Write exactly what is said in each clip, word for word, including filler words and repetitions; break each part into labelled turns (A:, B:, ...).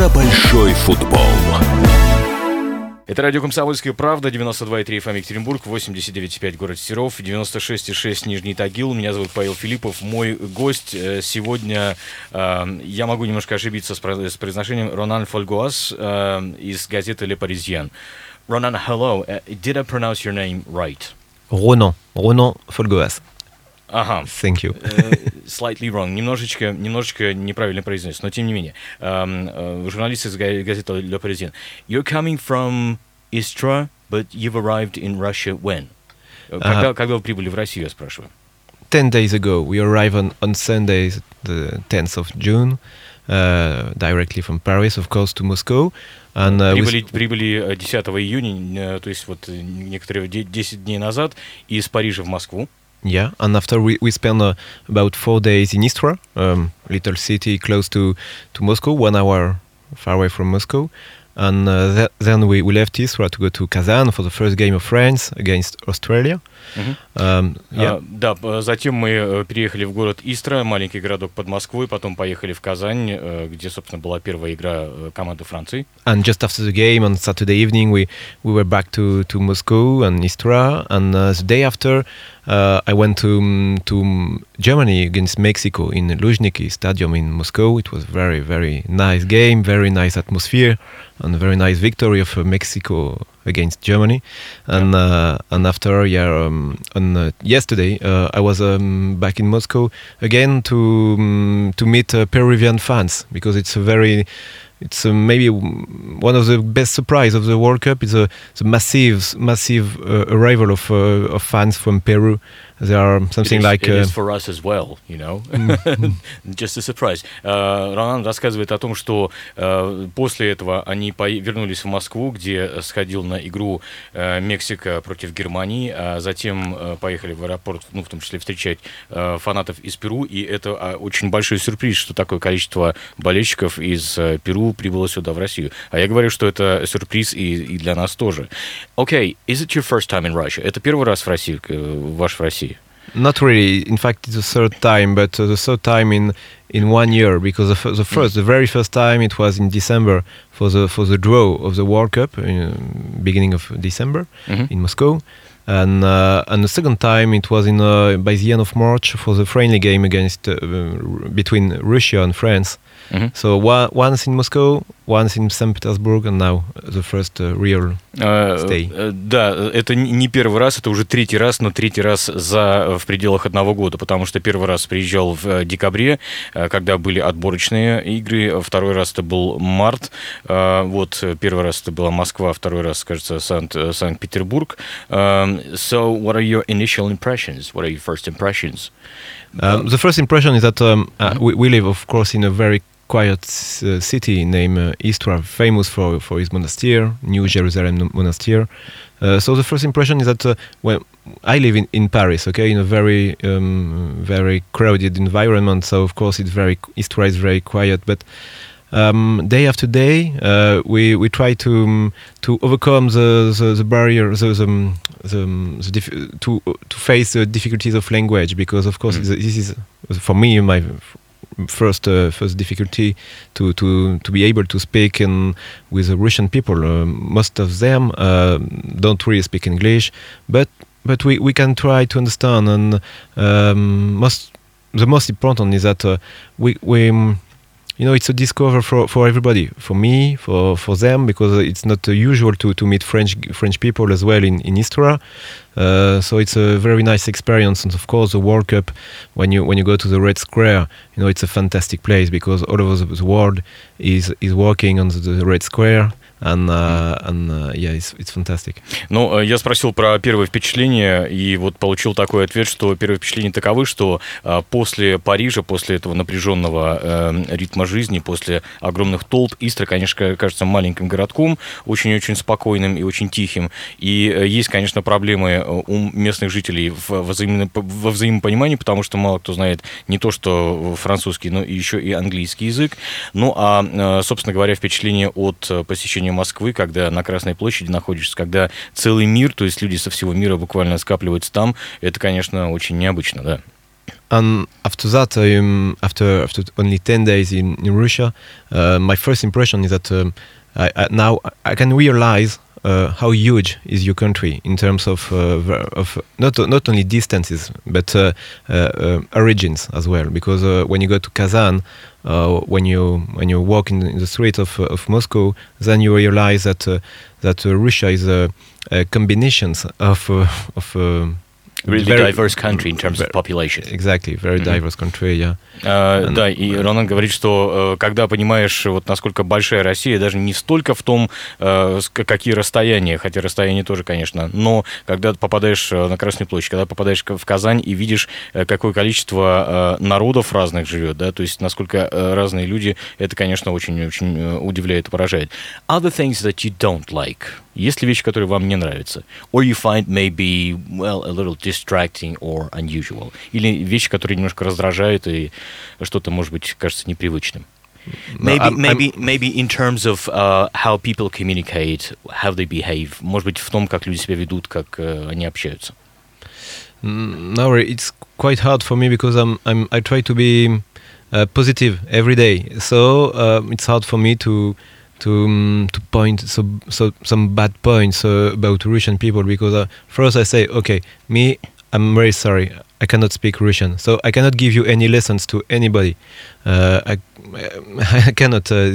A: про большой футбол.
B: Это радио «Комсомольская правда», девяносто два и три эф эм Екатеринбург, восемьдесят девять и пять город Серов, девяносто шесть и шесть Нижний Тагил. Меня зовут Павел Филиппов. Мой гость сегодня, э, я могу немножко ошибиться с произношением, Ронан Фольгоас э, из газеты «Le Parisien». Ronan, hello. Uh, did I pronounce your name right?
C: Ronan. Ronan Folgoas.
B: Ага.
C: Thank you.
B: uh, slightly wrong. Немножечко, немножечко неправильно произнес, но тем не менее. Um, uh, журналист из газеты Le Parisien. You're coming from Istra, but you've arrived in Russia when? Когда, uh, когда вы прибыли в Россию, я спрашиваю?
C: Ten days ago. We arrived on, on Sunday, the tenth of June, uh, directly from Paris, of course, to Moscow. And, uh,
B: прибыли, прибыли десятого июня, то есть вот некоторые десять дней назад, из Парижа в Москву.
C: Yeah, and after we, we spent uh, about four days in Istra, um, little city close to, to Moscow, one hour far away from Moscow. And uh, th- then we, we left Istra to go to Kazan for the first game of France against Australia.
B: Uh-huh.
C: Um, yeah.
B: а, да, затем мы переехали в город Истра, маленький городок под Москвой, потом поехали в Казань, где, собственно, была первая игра команды Франции.
C: And just after the game on Saturday evening, we, we were back to, to Moscow and Istra. And uh, the day after, uh, I went to um, to Germany against Mexico in Luzhniki Stadium in Moscow. It was very, very nice game, very nice atmosphere, and a very nice victory of uh, Mexico against Germany. And yeah. uh, and after, yeah, um, on uh, yesterday, uh, I was um, back in Moscow again to um, to meet uh, Peruvian fans, because it's a very It's uh, maybe one of the best surprise of the World Cup. It's a, it's a massive, massive uh, arrival of uh, of fans from Peru. There are something
B: it is,
C: like.
B: It
C: uh,
B: is for us as well, you know. Just a surprise. Uh, Ронан рассказывает о том, что uh, после этого они по- вернулись в Москву, где сходил на игру uh, Мексика против Германии, а затем uh, поехали в аэропорт, ну, в том числе встречать uh, фанатов из Перу, и это uh, очень большой сюрприз, что такое количество болельщиков из uh, Перу прибыло сюда, в Россию. А я говорю, что это сюрприз и, и для нас тоже. Okay, is it your first time in Russia? Это первый раз в России, ваш в России?
C: Not really. In fact, it's the third time, but uh, the third time in in one year, because the, f- the first, mm. the very first time, it was in December for the for the draw of the World Cup, in, beginning of December mm-hmm. in Moscow, and uh, and the second time it was in uh, by the end of March for the friendly game against uh, between Russia and France. Mm-hmm. So one, once in Moscow, once in Saint Petersburg, and now the first uh, real stay.
B: Uh, да, это не первый раз, это уже третий раз, но третий раз за, в пределах одного года, потому что первый раз приезжал в декабре, когда были отборочные игры, второй раз это был март, вот первый раз это была Москва, второй раз, кажется, Санкт, Санкт-Петербург. So, what are your initial impressions? What are your first impressions?
C: Um, the first impression is that um, uh, we, we live, of course, in a very quiet uh, city named uh, Istra, famous for, for its monastery, New Jerusalem Monastery. Uh, so the first impression is that uh, when I live in, in Paris, okay, in a very um, very crowded environment. So of course it's very Istra is very quiet, but um, day after day uh, we we try to um, to overcome the the, the barrier, the the, the, the dif- to to face the difficulties of language, because of course mm. this is for me my first uh, first difficulty to, to, to be able to speak in, with the Russian people. Uh, most of them uh, don't really speak English, but but we, we can try to understand. And um, most the most important is that uh, we we you know it's a discover for, for everybody, for me, for, for them, because it's not uh, usual to, to meet French French people as well in in Istra. Uh, so it's a very nice experience, and of course the World Cup, when you when you go to the Red Square, you know it's a fantastic place, because all over the, the world is is working on the, the Red Square. And, uh, and uh, yeah, it's, it's fantastic.
B: Ну, я спросил про первое впечатление, и вот получил такой ответ, что первое впечатление таковы, что э, после Парижа, после этого напряженного э, ритма жизни, после огромных толп, Истра, конечно, кажется маленьким городком, очень-очень спокойным и очень тихим. И э, есть, конечно, проблемы у местных жителей в, во, взаимно, во взаимопонимании, потому что мало кто знает не то, что французский, но еще и английский язык. Ну, а, э, собственно говоря, впечатление от посещения Москвы, когда на Красной площади находишься, когда целый мир, то есть люди со всего мира буквально скапливаются там, это, конечно, очень необычно, да.
C: and after that, um, after after only ten days in in Russia, uh, my first impression is that um, I, I, now I can realize uh, how huge is your country in terms of uh, ver- of not not only distances but uh, uh, uh, origins as well. Because uh, when you go to Kazan, uh, when you when you walk in, in the street of uh, of Moscow, then you realize that uh, that uh, Russia is a, a combination of uh, of uh,
B: Really
C: very
B: diverse country in terms of population.
C: Exactly, very diverse country, yeah.
B: Uh, да, и Ронан говорит, что uh, когда понимаешь, вот насколько большая Россия, даже не столько в том, uh, какие расстояния, хотя расстояния тоже, конечно, но когда ты попадаешь на Красную площадь, когда попадаешь в Казань и видишь, какое количество uh, народов разных живет, да, то есть насколько uh, разные люди, это, конечно, очень-очень удивляет и поражает. Other things that you don't like. Есть ли вещи, которые вам не нравятся? Or you find maybe, well, a little distracting or unusual? Или вещи, которые немножко раздражают и что-то, может быть, кажется непривычным? Maybe, no, I'm, maybe, I'm... maybe in terms of uh, how people communicate, how they behave. Может быть, в том, как люди себя ведут, как uh, они общаются.
C: No, it's quite hard for me because I'm, I'm, I try to be uh, positive every day. So uh, it's hard for me to to um, to point so, so some bad points uh, about Russian people, because uh, first I say, okay, me, I'm very sorry, I cannot speak Russian, so I cannot give you any lessons to anybody. Uh, I, I cannot uh,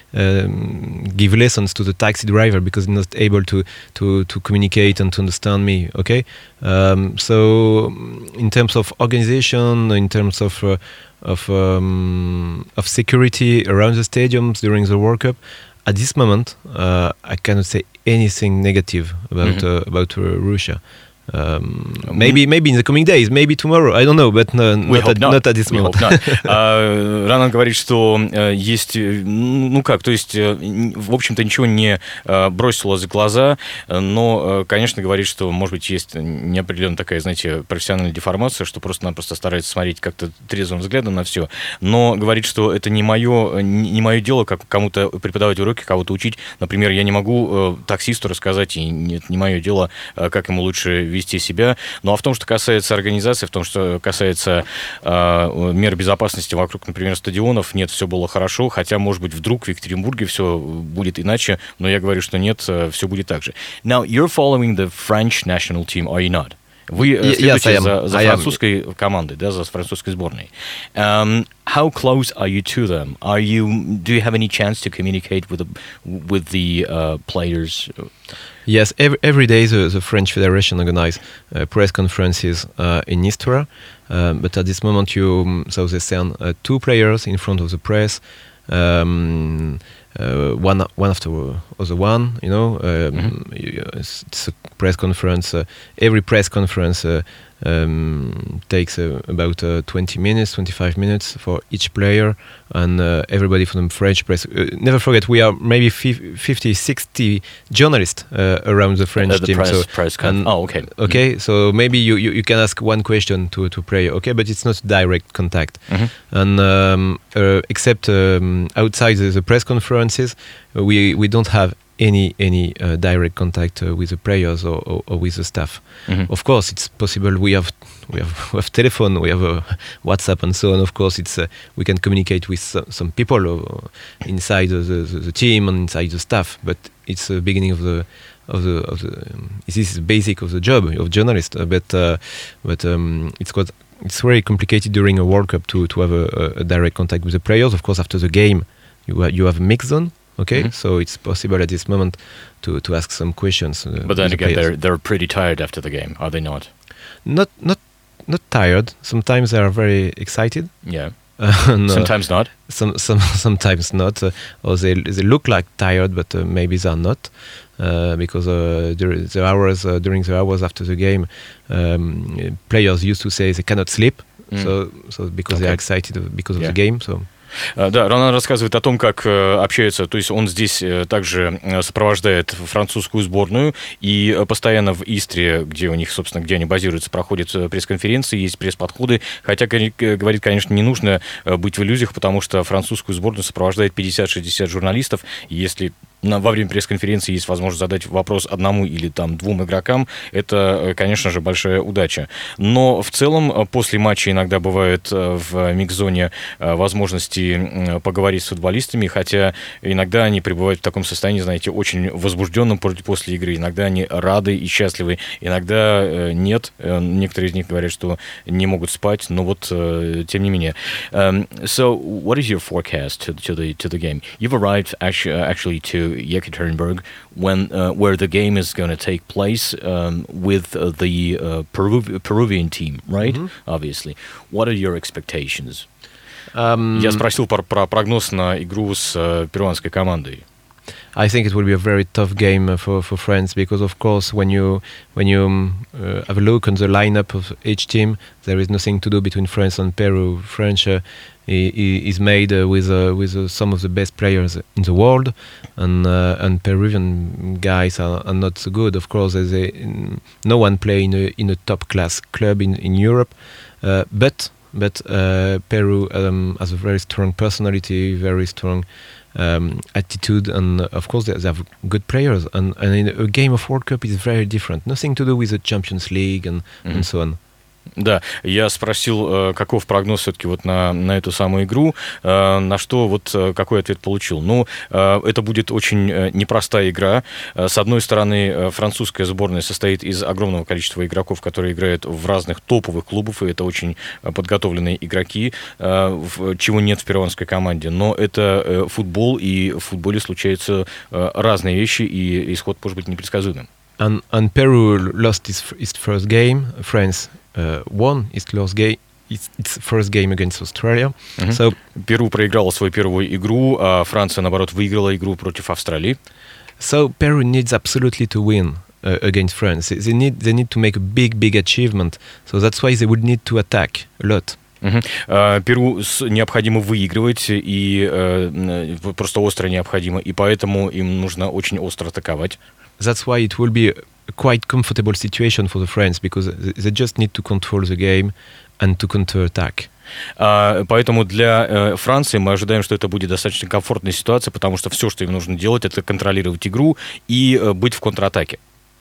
C: um, give lessons to the taxi driver because he's not able to, to, to communicate and to understand me, okay? Um, so in terms of organization, in terms of uh, of um, of security around the stadiums during the World Cup, at this moment, uh, I cannot say anything negative about mm-hmm. uh, about uh, Russia. Um, maybe, maybe in the coming days, maybe tomorrow, I don't know, but no, not, at, not. not at this moment.
B: uh, Ронан говорит, что uh, есть, ну как, то есть, uh, в общем-то, ничего не uh, бросило за глаза, но, uh, конечно, говорит, что, может быть, есть неопределенная такая, знаете, профессиональная деформация, что просто-напросто старается смотреть как-то трезвым взглядом на все, но говорит, что это не мое, не мое дело, как кому-то преподавать уроки, кого-то учить. Например, я не могу uh, таксисту рассказать, и это не мое дело, uh, как ему лучше вести вести себя. Ну а в том, что касается организации, в том, что касается э, мер безопасности вокруг, например, стадионов, нет, все было хорошо, хотя, может быть, вдруг в Екатеринбурге все будет иначе, но я говорю, что нет, все будет так же. Now, you're following the French national team, are you not? Вы следуете yes, за, за французской командой, да, за французской сборной. Um, how close are you to them? Are you? Do you have any chance to communicate with the with the uh, players?
C: Yes, every every day the, the French Federation organize uh, press conferences uh, in Istres, uh, but at this moment you so they send uh, two players in front of the press. Um, Uh, one one after other one, you know. Um, mm-hmm. it's, it's a press conference. Uh, every press conference uh, um, takes uh, about uh, twenty minutes, twenty-five minutes for each player, and uh, everybody from the French press. Uh, never forget, we are maybe fifty, sixty journalists uh, around the French
B: uh, the
C: team.
B: Press,
C: so,
B: press con- oh, okay.
C: Okay, mm-hmm. So maybe you, you, you can ask one question to to player, okay, but it's not direct contact. Mm-hmm. And um, uh, except um, outside the, the press conference, we we don't have any any uh, direct contact uh, with the players or, or, or with the staff. Mm-hmm. Of course, it's possible. We have we have, we have telephone, we have uh, WhatsApp, and so on. Of course, it's uh, we can communicate with some, some people uh, inside the, the, the team and inside the staff. But it's the beginning of the of the of the. Um, this is the basic of the job of journalist. Uh, but uh, but um, it's got it's very complicated during a World Cup to to have a, a direct contact with the players. Of course, after the game, you you have a mix zone. Okay, mm-hmm. So it's possible at this moment to, to ask some questions. Uh,
B: but then
C: the
B: again,
C: players.
B: they're they're pretty tired after the game, are they not?
C: Not not not tired. Sometimes they are very excited.
B: Yeah.
C: Uh, no,
B: sometimes not.
C: Some some sometimes not. Uh, or they they look like tired, but uh, maybe they are not. Uh, because uh, during the hours uh, during the hours after the game, um, players used to say they cannot sleep. Mm. So so because okay. they are excited because of yeah. the game. So.
B: Да, Ронан рассказывает о том, как общаются, то есть он здесь также сопровождает французскую сборную, и постоянно в Истре, где у них, собственно, где они базируются, проходят пресс-конференции, есть пресс-подходы, хотя, говорит, конечно, не нужно быть в иллюзиях, потому что французскую сборную сопровождает пятьдесят-шестьдесят журналистов, и если во время пресс-конференции есть возможность задать вопрос одному или там двум игрокам, это, конечно же, большая удача. Но в целом после матча иногда бывает в микс-зоне возможности поговорить с футболистами, хотя иногда они пребывают в таком состоянии, знаете, очень возбужденном после игры. Иногда они рады и счастливы, иногда нет. Некоторые из них говорят, что не могут спать, но вот тем не менее. Um, so, what is your forecast to, to the to the game? You've arrived actually, actually to Yekaterinburg, when uh, where the game is going to take place um, with uh, the uh, Peru- Peruvian team, right? Mm-hmm. Obviously, what are your expectations? Um, Я спросил про, про прогноз на игру с uh, перуанской командой.
C: I think it will be a very tough game for, for France because, of course, when you when you um, uh, have a look on the lineup of each team, there is nothing to do between France and Peru. French uh, is made uh, with uh, with uh, some of the best players in the world, and uh, and Peruvian guys are, are not so good. Of course, there's a, no one play in a in a top class club in in Europe, uh, but but uh, Peru um, has a very strong personality, very strong um, attitude, and uh, of course they, they have good players. And, and in a game of World Cup is very different. Nothing to do with the Champions League and, mm-hmm. and so on.
B: Да, я спросил, каков прогноз все-таки вот на, на эту самую игру, на что вот какой ответ получил. Ну, это будет очень непростая игра. С одной стороны, французская сборная состоит из огромного количества игроков, которые играют в разных топовых клубах, и это очень подготовленные игроки, чего нет в перуанской команде. Но это футбол, и в футболе случаются разные вещи, и исход может быть непредсказуемым.
C: And, and Peru lost its, its first game. France uh, won its last game. Its, its first game against Australia.
B: Mm-hmm. So, Перу проиграла свою первую игру, а Франция, наоборот, выиграла игру против Австралии.
C: So Peru needs absolutely to win uh, against France. They need they need to make a big, big achievement. So that's why they would need to attack a lot.
B: Uh-huh. Uh, Перу необходимо выигрывать, и uh, просто остро необходимо, и поэтому им нужно очень остро атаковать.
C: That's why it will be a quite comfortable situation for the France, because they just need to control the game and to counter-attack.
B: Uh, поэтому для uh, Франции мы ожидаем, что это будет достаточно комфортная ситуация, потому что все, что им нужно делать, это контролировать игру и uh, быть в контратаке.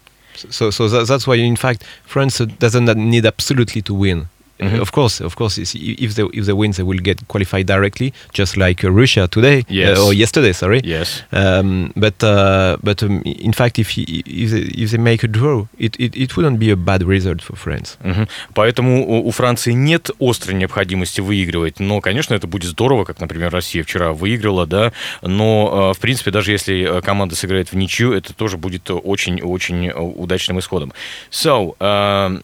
C: So, so that, that's why, in fact, France doesn't need absolutely to win. Mm-hmm. Of course, of course. If they if they win, they will get qualified directly, just like uh, Russia today
B: yes.
C: uh, or yesterday. Sorry.
B: Yes.
C: Um, but uh, but um, in fact, if if they, if they make a draw, it, it it wouldn't be a bad result for France.
B: Mm-hmm. Поэтому у, у Франции нет острой необходимости выигрывать, но, конечно, это будет здорово, как, например, Россия вчера выиграла, да. Но в принципе, даже если команда сыграет в ничью, это тоже будет очень-очень удачным исходом. So. Um,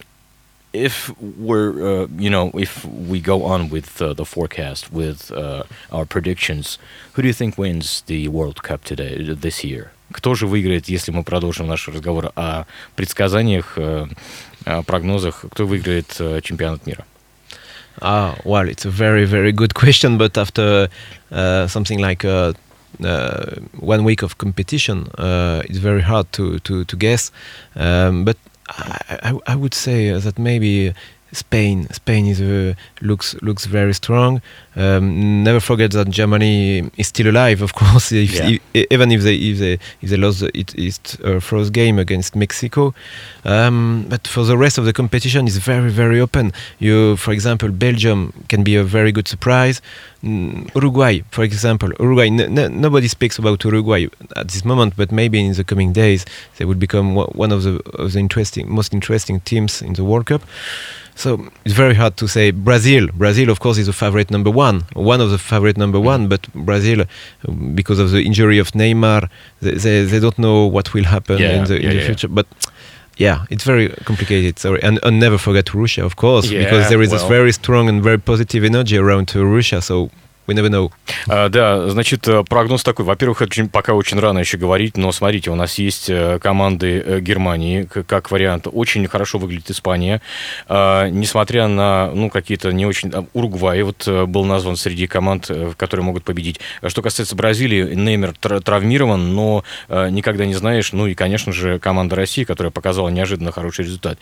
B: If we're, uh, you know, if we go on with uh, the forecast, with uh, our predictions, who do you think wins the World Cup today, this year? Кто же выиграет, если мы продолжим наш разговор о предсказаниях, о прогнозах, кто выиграет чемпионат мира?
C: Ah, well, it's a very, very good question, but after uh, something like uh, uh, one week of competition, uh, it's very hard to, to, to guess. Um, but I, I, I would say that maybe Spain Spain is uh, looks looks very strong. Um, never forget that Germany is still alive, of course. If,
B: yeah.
C: if, even if they if they if they lost it, its uh, first game against Mexico, um, but for the rest of the competition, it's very very open. You, for example, Belgium can be a very good surprise. Mm, Uruguay, for example, Uruguay. N- n- nobody speaks about Uruguay at this moment, but maybe in the coming days they will become one of the, of the interesting, most interesting teams in the World Cup. So it's very hard to say. Brazil, Brazil, of course, is a favorite number one, one of the favorite number one. But Brazil, because of the injury of Neymar, they they, they don't know what will happen
B: yeah,
C: in the,
B: yeah,
C: in the
B: yeah.
C: future. But yeah, it's very complicated. Sorry, and, and never forget Russia, of course,
B: yeah,
C: because there is
B: well.
C: this very strong and very positive energy around uh, Russia. So we never know.
B: А, да, значит, прогноз такой. Во-первых, это пока очень рано еще говорить, но смотрите, у нас есть команды Германии, как вариант. Очень хорошо выглядит Испания. А, несмотря на, ну, какие-то не очень... Уругвай вот был назван среди команд, которые могут победить. Что касается Бразилии, Неймар травмирован, но никогда не знаешь. Ну и, конечно же, команда России, которая показала неожиданно хороший результат.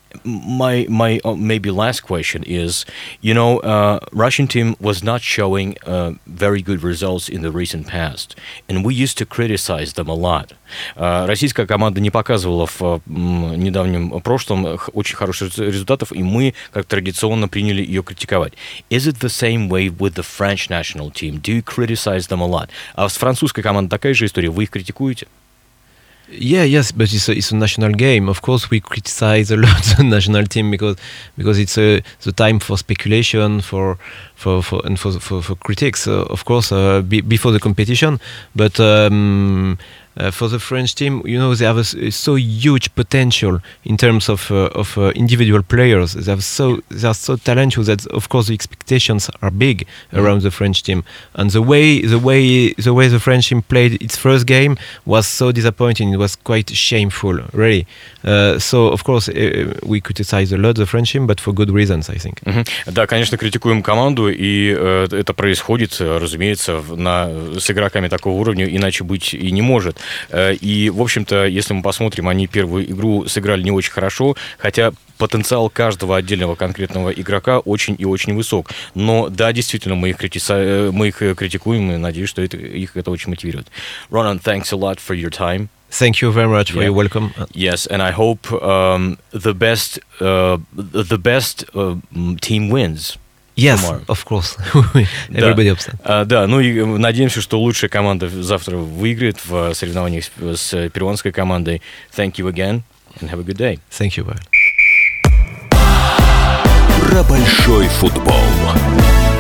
B: My my uh, maybe last question is, you know, uh, Russian team was not showing uh, very good results in the recent past, and we used to criticize them a lot. Uh, российская команда не показывала в uh, недавнем прошлом очень хороших результатов, и мы, как традиционно, приняли ее критиковать. Is it the same way with the French national team? Do you criticize them a lot? А с французской командой такая же история. Вы их критикуете?
C: Yeah, yes, but it's a, it's a national game. Of course, we criticize a lot the national team because because it's a the time for speculation, for for, for and for for, for critics. Uh, of course, uh, be, before the competition, but. Um, Uh, for the French team, you know, they have a, a so huge potential in terms of uh, of uh, individual players. They have so they are so talented that, of course, the expectations are big mm. around the French team. And the way the way the way the French team played its first game was so disappointing. It was quite shameful, really. Uh, so, of course, uh, we criticize a lot the French team, but for good reasons, I think.
B: Mm-hmm. Да, конечно, критикуем команду, и э, это происходит, разумеется, на, с игроками такого уровня, иначе быть и не может. И, в общем-то, если мы посмотрим, они первую игру сыграли не очень хорошо, хотя потенциал каждого отдельного конкретного игрока очень и очень высок. Но, да, действительно, мы их, критиса... мы их критикуем, и надеюсь, что это, их это очень мотивирует. Ronan, thanks a lot for your time.
C: Thank you very much for
B: yeah.
C: your welcome.
B: Yes, and I hope um, the best, uh, the best uh, team wins.
C: Yes,
B: tomorrow.
C: Of course. Everybody
B: да.
C: upset.
B: А, да, ну и надеемся, что лучшая команда завтра выиграет в соревнованиях с, с перуанской командой. Thank you again and have a good day.
C: Thank you, Валя.
A: Про большой футбол.